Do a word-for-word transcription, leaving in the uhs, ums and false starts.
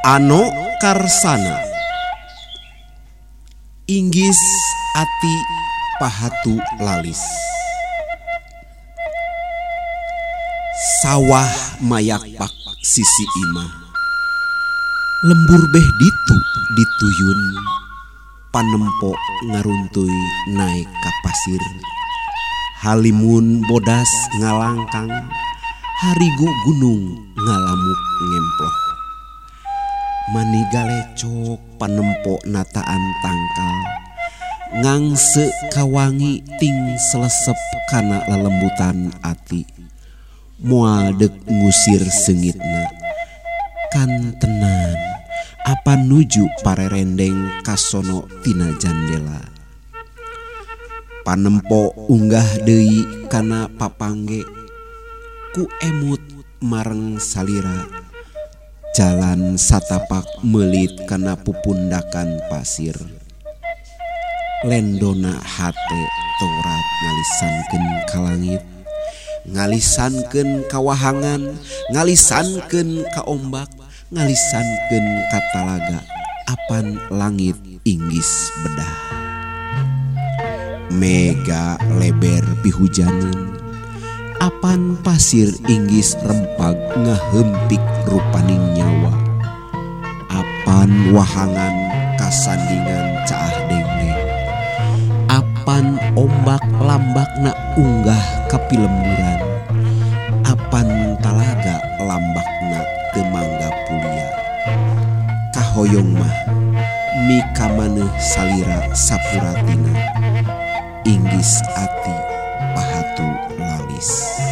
Ano karsana inggis ati pahatu lalis. Sawah mayakpak sisi imah, lembur beh ditu dituyun, panempo ngaruntuy naik ka pasir. Halimun bodas ngalangkang, harigo gunung ngalamuk ngemploh. Mani galecok panempo nataan tangkal, ngangse kawangi ting selesep kana lelembutan ati. Moal dek ngusir sengitna, kan tenan apa nuju parerendeng kasono tina jandela. Panempo unggah deui kana papangge, ku emut mareng salira. Jalan satapak melit kana pupundakan pasir. Lendona hate Taurat ngalisankeun ka langit, ngalisankeun ka wahangan, ngalisankeun ka ombak, ngalisankeun ka talaga, apan langit inggis bedah. Mega leber pihujanan, apan pasir inggis rempag ngahempik rupaning nyawa. Apan wahangan kasandingan caah dengdeng, apan ombak lambakna unggah kapilemburan, apan talaga lambakna teu mangga pulia. Kahoyong mah mika maneh salira sapuratina, inggis ati pahatu lalis.